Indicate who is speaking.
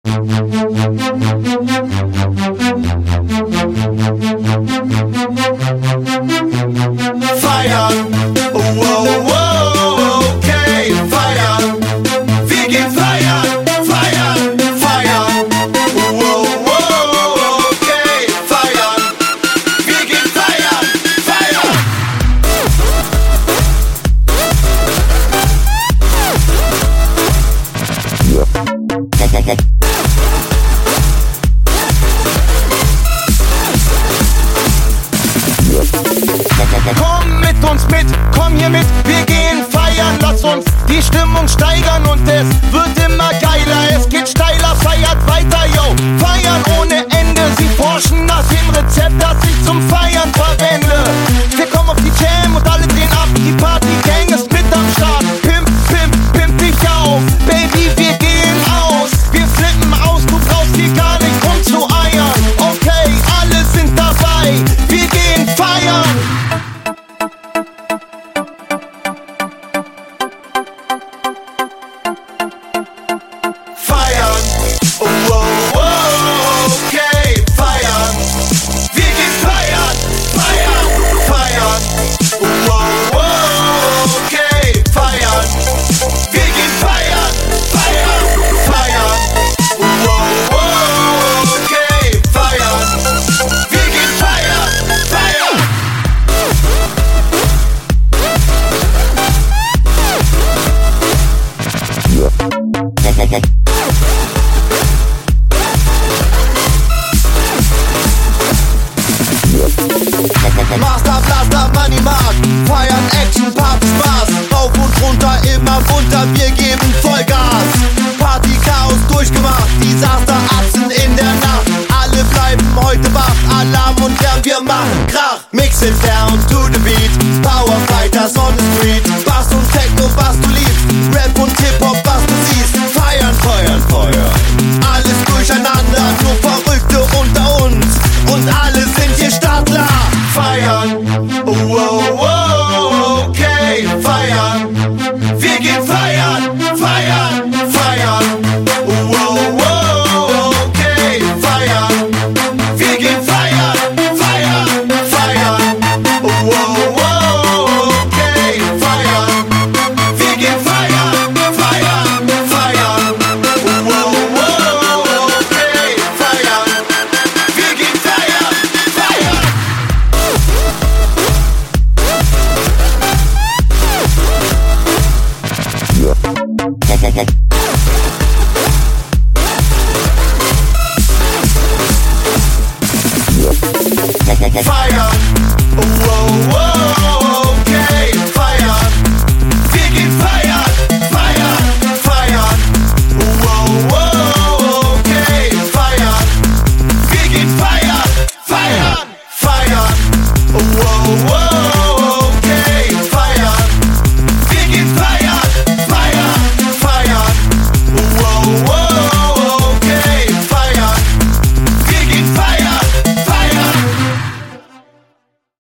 Speaker 1: Feiern, oh, oh, oh, okay, feiern. Wir gehen feiern, feiern, feiern. Oh, oh, oh, okay, feiern. Wir gehen feiern, feiern. Komm mit uns mit, komm hier mit, wir gehen feiern, lass uns die Stimmung steigern und es wird immer geiler, es geht steiler, feiert weiter, yo, feiern ohne Ende, sie forschen nach dem Rezept, das ich zum Feiern verwende. Wir kommen auf die Jam und alle drehen ab, die Party-Gang ist mit am Start, pimp, pimp, pimp dich auf, Baby, wir gehen aus, wir flippen aus, du brauchst hier gar nicht rumzueiern, okay, alle sind dabei, wir gehen feiern. Feiern, oh, oh, oh, okay, feiern. Wir gehen feiern, feiern, feiern. Oh, oh, oh, okay, feiern. Wir gehen feiern, feiern, feiern. Oh, oh, oh, okay, feiern. Wir gehen feiern, feiern. Master Blaster, Money Mark, feiern Action, Party, Spaß, rauf und runter, immer bunter, wir geben Vollgas. Party, Chaos durchgemacht, Desaster, Atzen in der Nacht, alle bleiben heute wach, Alarm und Lärm, wir machen Krach. Mix it down to the beat, Power Fighters on the street, Bass und Techno, was du liebst, Rap und Hip-Hop, was du siehst, feiern, feuern, feuern, alles durcheinander, nur Verrückte unter uns und alle sind hier Startler. Feiern, oh, oh, oh, okay, feiern. Wir gehen feiern, feiern, feiern. Oh, oh, oh, okay, feiern. Wir gehen feiern, feiern, feiern. Oh, oh, oh, okay, feiern. Wir gehen feiern, feiern, feiern. Oh, oh, oh, okay, feiern. Wir gehen feiern, feiern. Feiern,